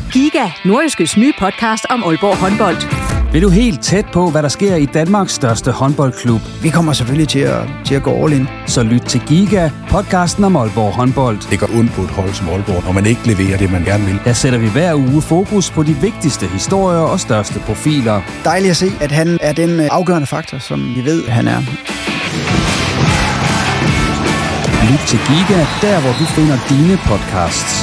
Giga, Nordjyskes nye podcast om Aalborg håndbold. Vil du helt tæt på, hvad der sker i Danmarks største håndboldklub? Vi kommer selvfølgelig til at gå all in. Så lyt til Giga, podcasten om Aalborg håndbold. Det går ondt på et hold som Aalborg, når man ikke leverer det, man gerne vil. Der sætter vi hver uge fokus på de vigtigste historier og største profiler. Dejligt at se, at han er den afgørende faktor, som vi ved, han er. Lyt til Giga, der hvor du finder dine podcasts.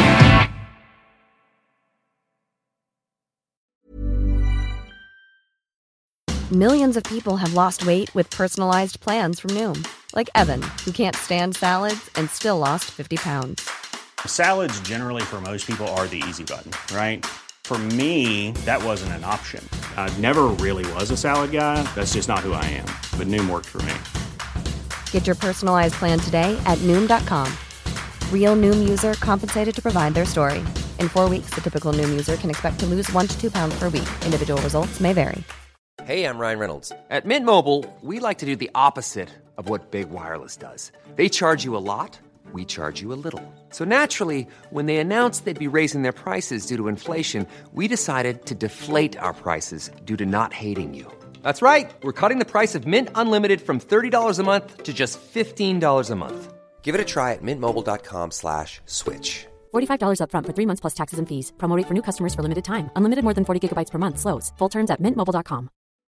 Millions of people have lost weight with personalized plans from Noom. Like Evan, who can't stand salads and still lost 50 pounds. Salads generally for most people are the easy button, right? For me, that wasn't an option. I never really was a salad guy. That's just not who I am. But Noom worked for me. Get your personalized plan today at Noom.com. Real Noom user compensated to provide their story. In 4 weeks, the typical Noom user can expect to lose 1 to 2 pounds per week. Individual results may vary. Hey, I'm Ryan Reynolds. At Mint Mobile, we like to do the opposite of what Big Wireless does. They charge you a lot, we charge you a little. So naturally, when they announced they'd be raising their prices due to inflation, we decided to deflate our prices due to not hating you. That's right. We're cutting the price of Mint Unlimited from $30 a month to just $15 a month. Give it a try at mintmobile.com/switch. $45 up front for 3 months plus taxes and fees. Promo rate for new customers for limited time. Unlimited more than 40 gigabytes per month. Slows full terms at mintmobile.com.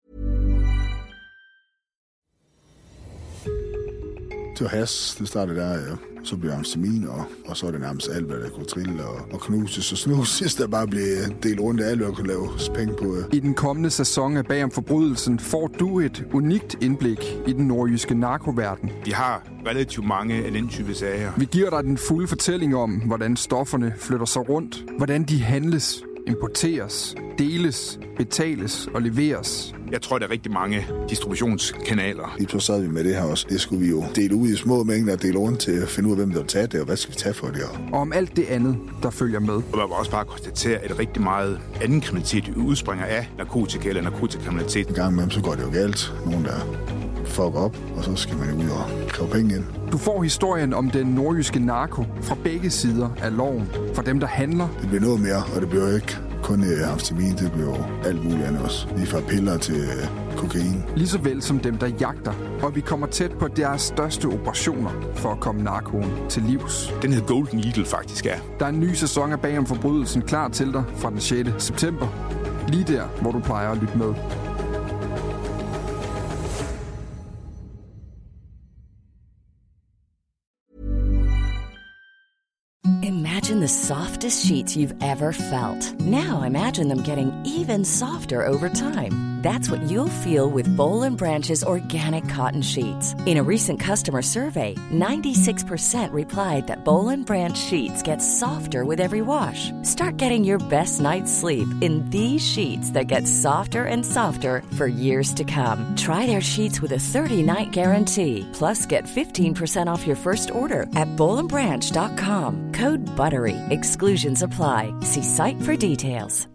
Til has, det startede der, ja. Så blev amfetamin, og så er det nærmest alt, hvad der kunne trille og knuses og snuses, der bare blev delt rundt af alt, hvad der kunne laves penge på. I den kommende sæson af Bag om Forbrydelsen får du et unikt indblik i den nordjyske narkoverden. De har relativt mange af den type sager. Vi giver dig den fulde fortælling om, hvordan stofferne flytter sig rundt, hvordan de handles, importeres, deles, betales og leveres. Jeg tror, der er rigtig mange distributionskanaler. Lige så sad vi med det her også. Det skulle vi jo dele ud i små mængder og dele rundt til at finde ud af, hvem der vil tage det, og hvad skal vi tage for det. Og om alt det andet, der følger med. Og man må også bare konstatere, at rigtig meget anden kriminalitet udspringer af narkotika eller narkotikakriminalitet. En gang imellem, så går det jo galt. Nogen, der fucker op, og så skal man jo ud og kræve penge ind. Du får historien om den nordjyske narko fra begge sider af loven. For dem, der handler. Det bliver noget mere, og det bliver jo ikke kun amfetamin, det bliver jo alt muligt andet også. Lige fra piller til kokain. Lige så vel som dem, der jagter. Og vi kommer tæt på deres største operationer for at komme narkoen til livs. Den hedder Golden Eagle faktisk er. Der er en ny sæson af Bag om Forbrydelsen klar til dig fra den 6. september. Lige der, hvor du plejer at lytte med. Imagine the softest sheets you've ever felt. Now imagine them getting even softer over time. That's what you'll feel with Boll & Branch's organic cotton sheets. In a recent customer survey, 96% replied that Boll & Branch sheets get softer with every wash. Start getting your best night's sleep in these sheets that get softer and softer for years to come. Try their sheets with a 30-night guarantee. Plus, get 15% off your first order at bollandbranch.com. Code BUTTERY. Exclusions apply. See site for details.